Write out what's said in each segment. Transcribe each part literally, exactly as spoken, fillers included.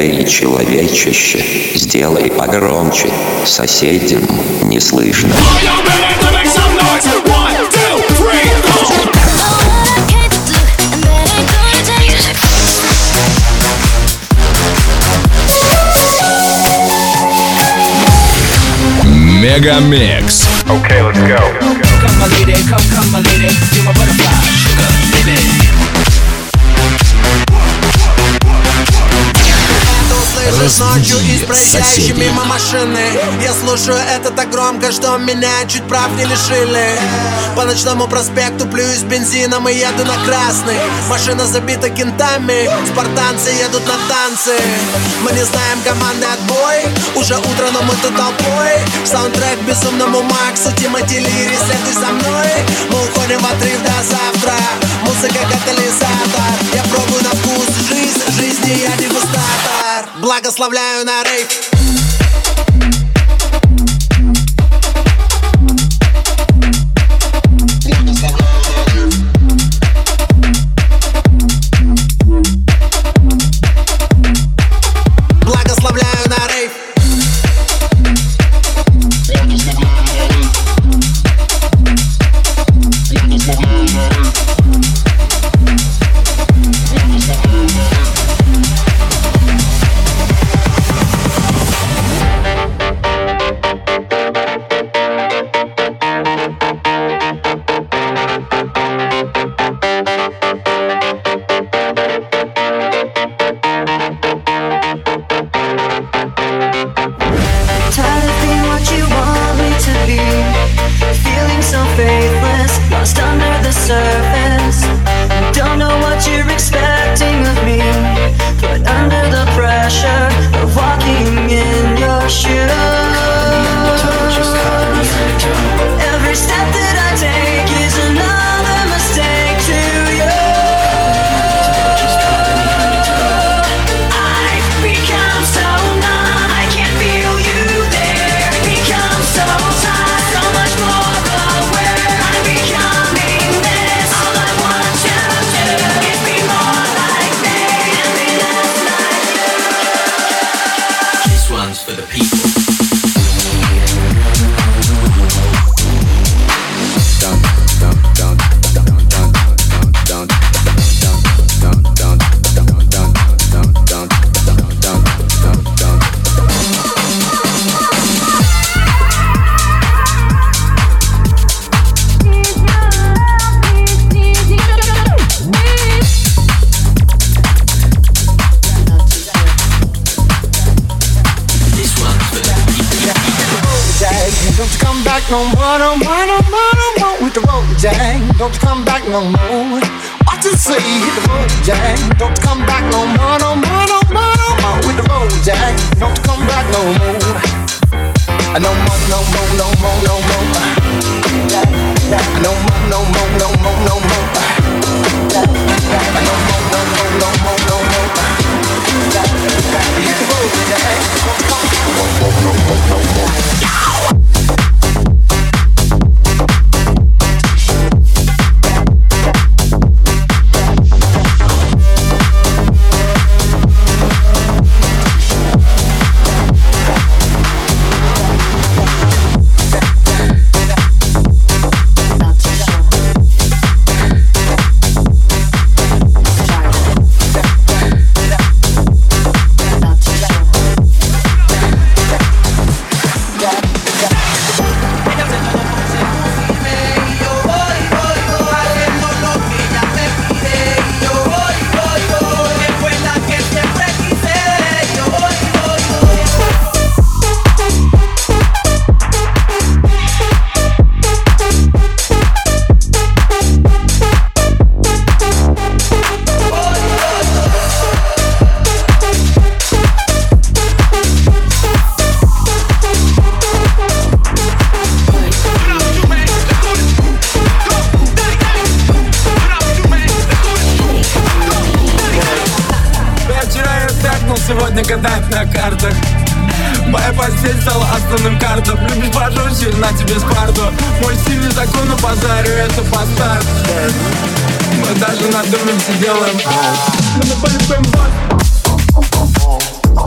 Эй, человечище, сделай погромче, соседям не слышно. Мегамикс. Okay, let's go. Come my lady, come, come my lady, you're my butterfly, sugar, baby. Слышишь ночью из проезжающей мимо машины. Я слушаю это так громко, что меня чуть прав не лишили. По ночному проспекту плююсь бензином и еду на красный. Машина забита кентами, спартанцы едут на танцы. Мы не знаем команды отбой, уже утро, но мы тут толпой. Саундтрек безумному Максу, Тимати Лири, следуй за мной. Мы уходим в отрыв до завтра, музыка катализатор. Я пробую на вкус жизнь, жизни я дегустатор. Благословляю на рейв. Благословляю на рейв. No more, no more, no more, no more with the road, Jack. Don't come back no more. What you say? Hit the road, Jack. Don't come back no more, no more, no more, no more with the road, Jack. Don't come back no more. No more, no more, no more, no more. No more, no more, no more, no more. No more, no more, no more, no more. Hit the road, Jack. Don't come back no more, no more, no more. Сегодня гадать на картах. Моя постель стала основным картом. Любишь пожестче, на тебе спарту. Мой стиль не закону базарю, это бастард. Мы даже на доме все делаем. Мы на полюбим вас.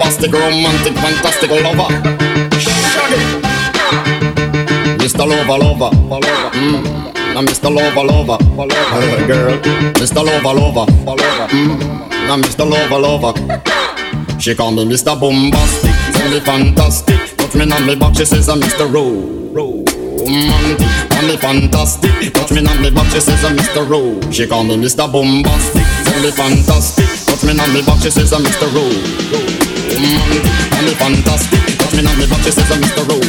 bombastic, romantic, fantastic lover. Shaggy, Mister Lover, lover, lover. Mm. Now Mister Lover, lover, lover, girl. Mister Lover, lover, lover. Mm. Now Mister Lover, lover. She call me Mister Bombastic, tell me fantastic. Touch me on me back, she says I'm Mister Romantic. Call me fantastic, touch me on me back, she says I'm Mister Ro. She call me Mister Bombastic, tell me fantastic. Touch me on me back, she says I'm Mister Romantic. Call me fantastic, touch me on me back, she says I'm Mister Ro.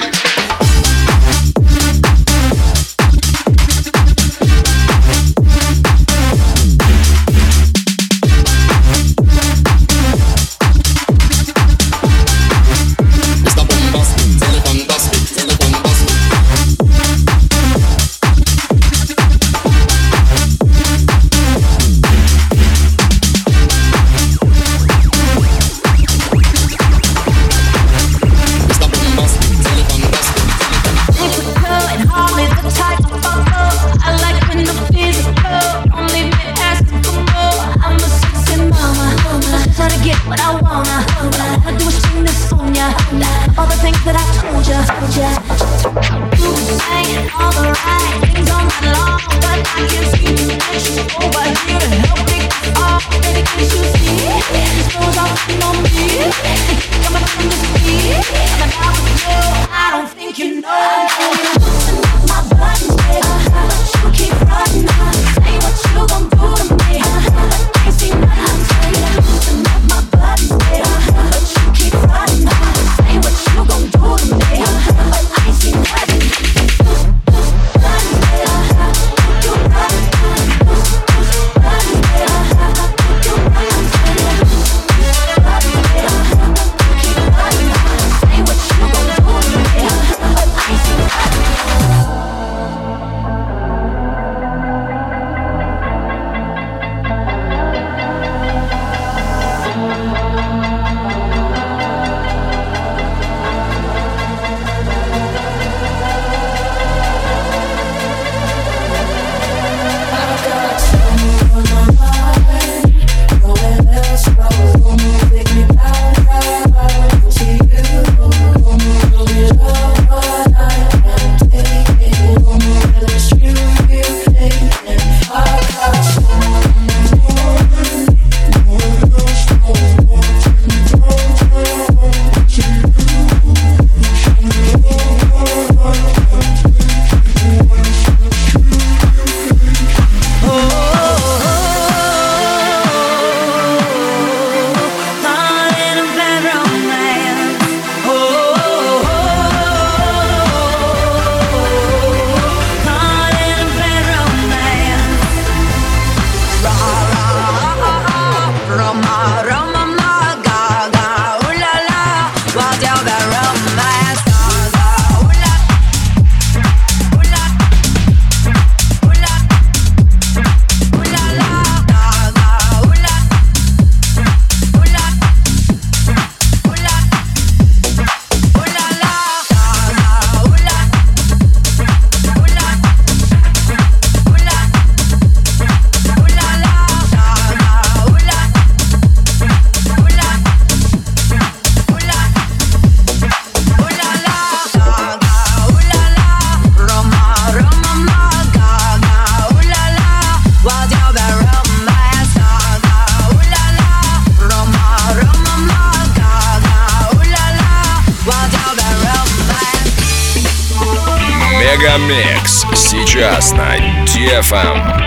Мегамикс сейчас на ди эф эм.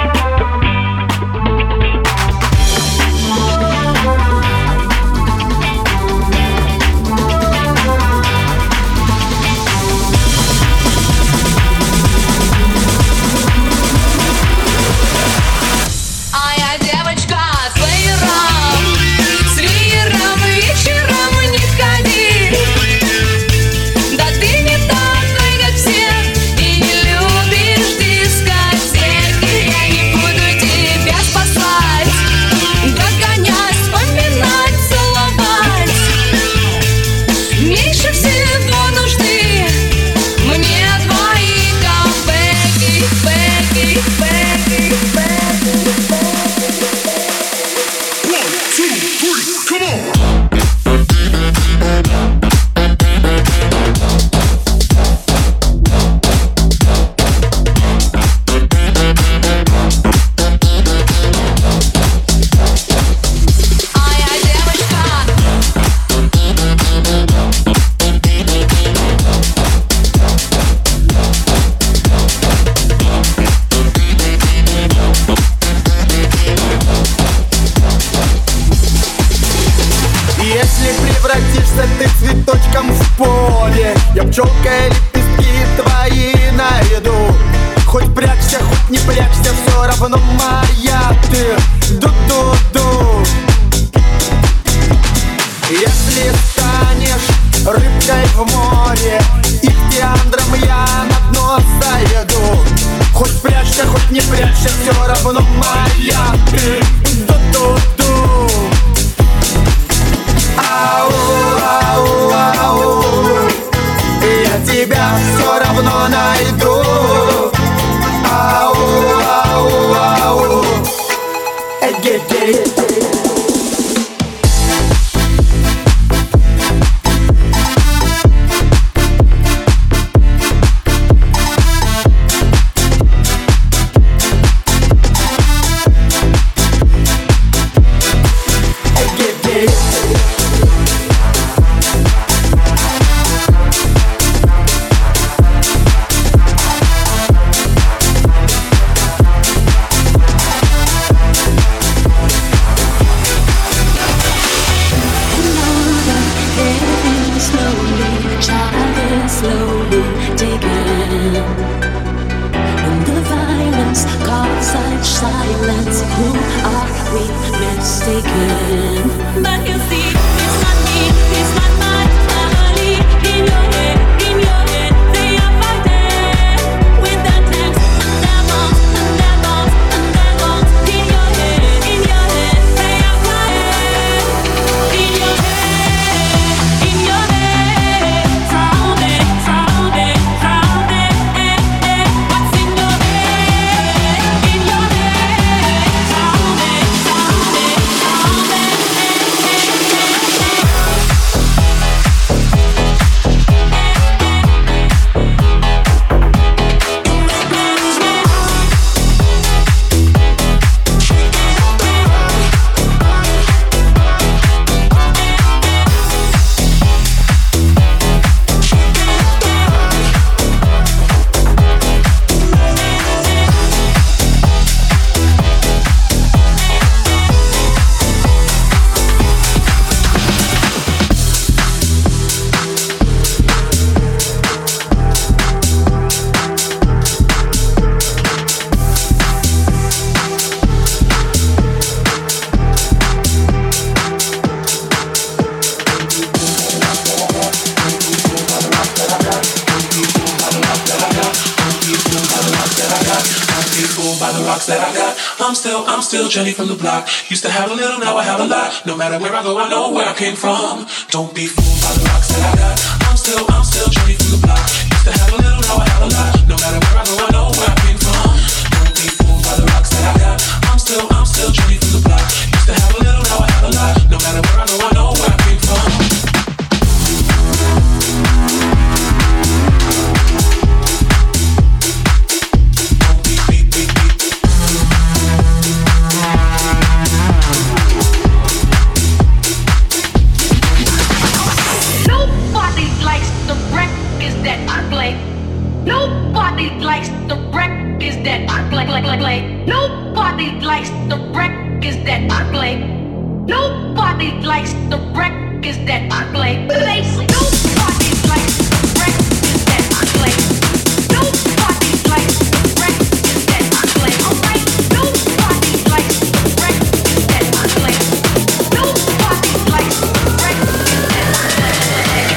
И не любишь дискотеки, я не буду тебя все равно найду. Ау, ау, ау. Эй, гей, гей. I'm still Jenny from the block. Used to have a little, now I have a lot. No matter where I go, I know where I came from. Don't be fooled by the rocks that I got. I'm still, I'm still Jenny from the block. Used to have a little, now I have a lot. No matter where I go, I know where I came from. Don't be fooled by the rocks that I got. I'm still, I'm still Jenny from the block. Used to have a little, now I have a lot. No matter where I go, I know where I came from. Nobody likes the records that I play, play, play, play. Nobody likes the records that I play. Nobody likes the records that I play. Nobody likes the records that I play. Nobody likes the records that I play. Alright. Nobody likes the records that I play. Nobody likes the records that I play.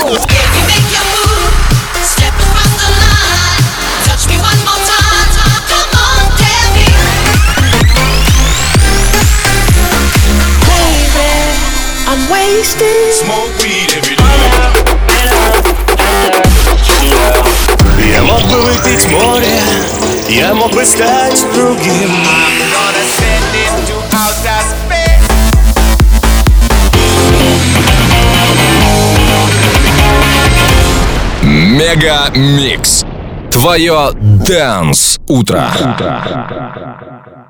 Smoke weed every day. Я мог бы выпить море, я мог бы стать другим. I'm gonna send it to outer space. Мега Микс. Твое Dance утро.